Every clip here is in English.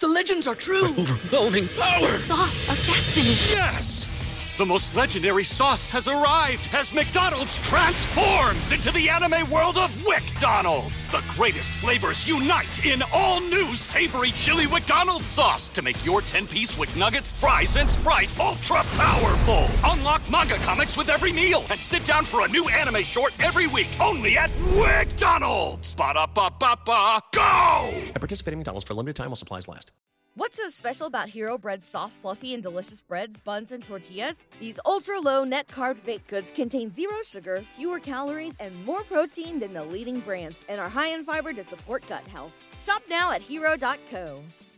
The legends are true. Overwhelming power! Sauce of destiny. Yes! The most legendary sauce has arrived as McDonald's transforms into the anime world of WickDonald's. The greatest flavors unite in all new savory chili McDonald's sauce to make your 10-piece Wick Nuggets, fries, and Sprite ultra-powerful. Unlock manga comics with every meal and sit down for a new anime short every week only at WickDonald's. Ba-da-ba-ba-ba, go! At participating McDonald's for a limited time while supplies last. What's so special about Hero Bread's soft, fluffy, and delicious breads, buns, and tortillas? These ultra-low net-carb baked goods contain zero sugar, fewer calories, and more protein than the leading brands, and are high in fiber to support gut health. Shop now at hero.co.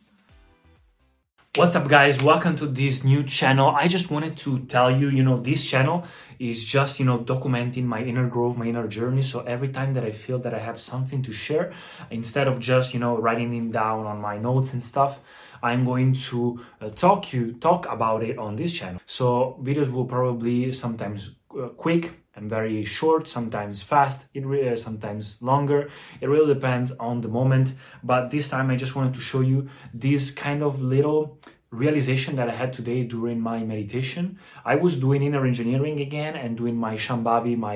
What's up, guys? Welcome to this new channel. I just wanted to tell you, this channel is just, documenting my inner growth, my inner journey. So every time that I feel that I have something to share, instead of just, writing it down on my notes and stuff, I'm going to talk about it on this channel. So videos will probably sometimes quick and very short, sometimes fast, sometimes longer. It really depends on the moment. But this time I just wanted to show you this kind of little realization that I had today during my meditation. I was doing inner engineering again and doing my Shambhavi, my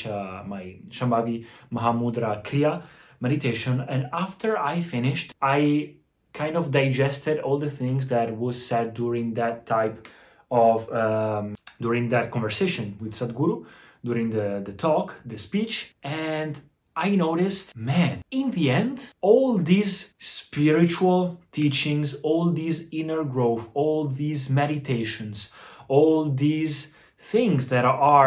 Shambhavi Mahamudra Kriya meditation. And after I finished, I kind of digested all the things that was said during that type of during that conversation with Sadhguru, during the talk, the speech. And I noticed, man, in the end, all these spiritual teachings, all these inner growth, all these meditations, all these things that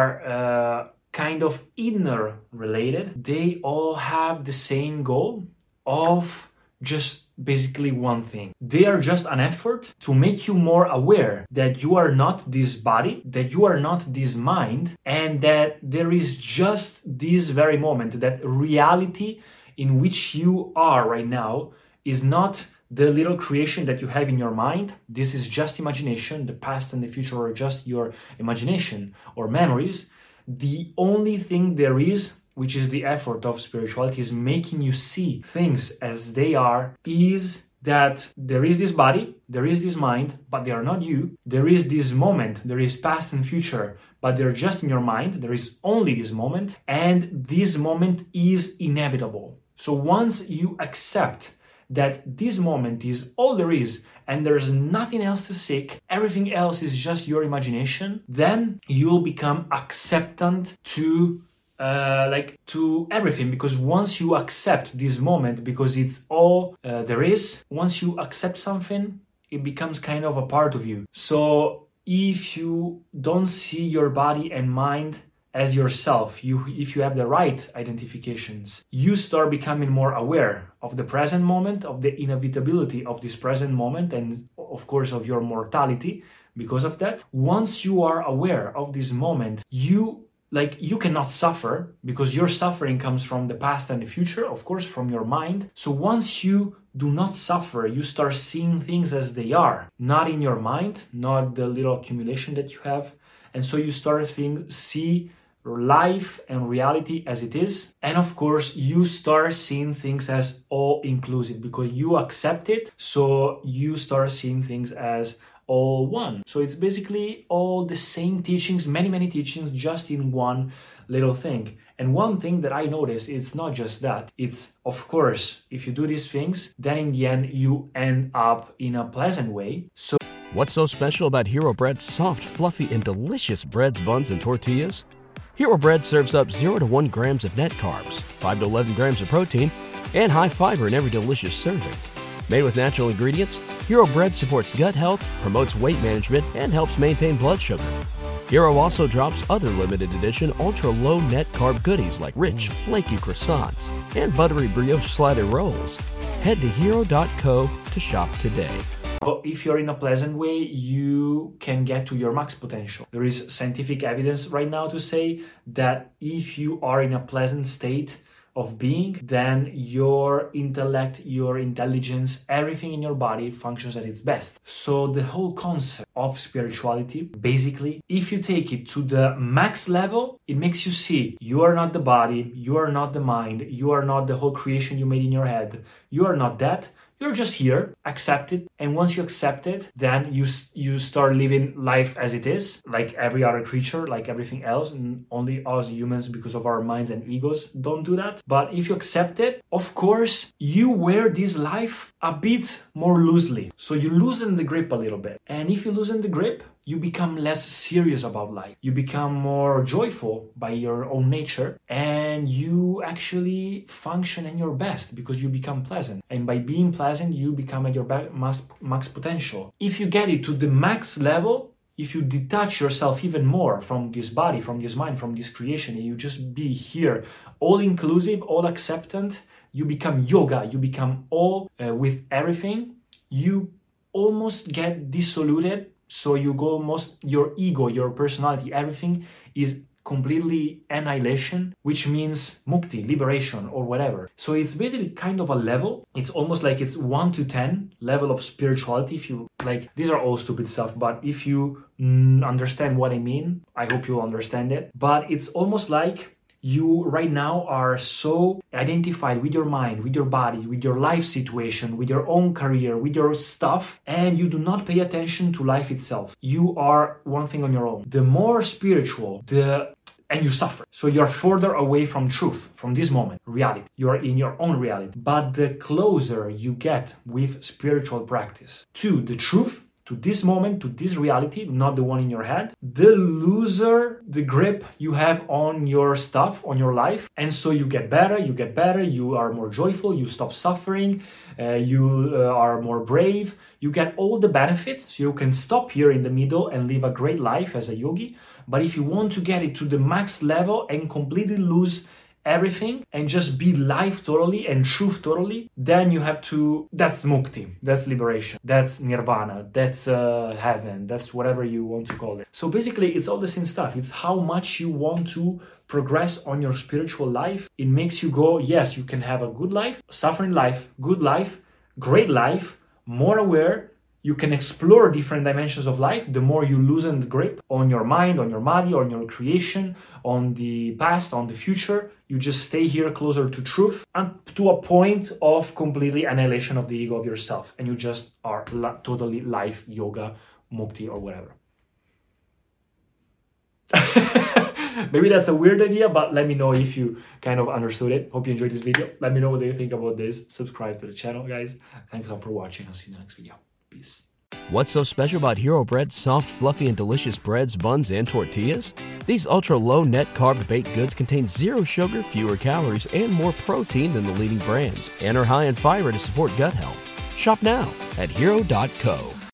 are kind of inner related, they all have the same goal of just basically one thing. They are just an effort to make you more aware that you are not this body, that you are not this mind, and that there is just this very moment, that reality in which you are right now is not the little creation that you have in your mind. This is just imagination. The past and the future are just your imagination or memories. The only thing there is, which is the effort of spirituality, is making you see things as they are, is that there is this body, there is this mind, but they are not you. There is this moment, there is past and future, but they're just in your mind. There is only this moment, and this moment is inevitable. So once you accept that this moment is all there is, and there's nothing else to seek, everything else is just your imagination, then you'll become acceptant to everything. Because once you accept this moment, because it's all there is, once you accept something, it becomes kind of a part of you. So if you don't see your body and mind as yourself, if you have the right identifications, you start becoming more aware of the present moment, of the inevitability of this present moment, and of course of your mortality. Because of that, once you are aware of this moment, you cannot suffer, because your suffering comes from the past and the future, of course, from your mind. So once you do not suffer, you start seeing things as they are, not in your mind, not the little accumulation that you have. And so you start see life and reality as it is. And of course, you start seeing things as all inclusive, because you accept it. So you start seeing things as all one. So it's basically all the same teachings, many teachings, just in one little thing. And one thing that I noticed, it's not just that. It's, of course, if you do these things, then in the end, you end up in a pleasant way. So what's so special about Hero Bread's soft, fluffy, and delicious breads, buns, and tortillas? Hero Bread serves up 0 to 1 grams of net carbs, 5 to 11 grams of protein, and high fiber in every delicious serving. Made with natural ingredients, Hero Bread supports gut health, promotes weight management, and helps maintain blood sugar. Hero also drops other limited edition ultra-low net carb goodies like rich, flaky croissants and buttery brioche slider rolls. Head to hero.co to shop today. if you're in a pleasant way, you can get to your max potential. There is scientific evidence right now to say that if you are in a pleasant state of being, then your intellect, your intelligence, everything in your body functions at its best. So the whole concept of spirituality, basically, if you take it to the max level, it makes you see you are not the body, you are not the mind, you are not the whole creation you made in your head, you are not that, You're just here, accept it, and once you accept it, then you start living life as it is, like every other creature, like everything else, and only us humans, because of our minds and egos, don't do that. But if you accept it, of course, you wear this life a bit more loosely. So you loosen the grip a little bit. And if you loosen the grip, you become less serious about life. You become more joyful by your own nature, and you actually function in your best because you become pleasant. And by being pleasant, you become at your max potential. If you get it to the max level, if you detach yourself even more from this body, from this mind, from this creation, and you just be here, all inclusive, all acceptant, you become yoga, you become all with everything, you almost get dissoluted. So you go almost, your ego, your personality, everything is completely annihilation, which means mukti, liberation, or whatever. So it's basically kind of a level. It's almost like it's 1 to 10 level of spirituality. If you like, these are all stupid stuff, but if you understand what I mean, I hope you'll understand it. But it's almost like you right now are so identified with your mind, with your body, with your life situation, with your own career, with your stuff, and you do not pay attention to life itself. You are one thing on your own. The more spiritual, and you suffer. So you're further away from truth, from this moment, reality. You're in your own reality. But the closer you get with spiritual practice to the truth, to this moment, to this reality, not the one in your head, the looser the grip you have on your stuff, on your life. And so you get better, you are more joyful, you stop suffering, you are more brave, you get all the benefits. So you can stop here in the middle and live a great life as a yogi. But if you want to get it to the max level and completely lose everything and just be life totally and truth totally, then you have to, that's mukti, that's liberation, that's nirvana, that's heaven, that's whatever you want to call it. So basically it's all the same stuff. It's how much you want to progress on your spiritual life. It makes you go, yes, you can have a good life, suffering life, good life, great life, more aware. You can explore different dimensions of life the more you loosen the grip on your mind, on your body, on your creation, on the past, on the future. You just stay here closer to truth and to a point of completely annihilation of the ego of yourself. And you just are totally life, yoga, mukti, or whatever. Maybe that's a weird idea, but let me know if you kind of understood it. Hope you enjoyed this video. Let me know what you think about this. Subscribe to the channel, guys. Thanks all for watching. I'll see you in the next video. Peace. What's so special about Hero Bread's soft, fluffy, and delicious breads, buns, and tortillas? These ultra-low net-carb baked goods contain zero sugar, fewer calories, and more protein than the leading brands, and are high in fiber to support gut health. Shop now at Hero.co.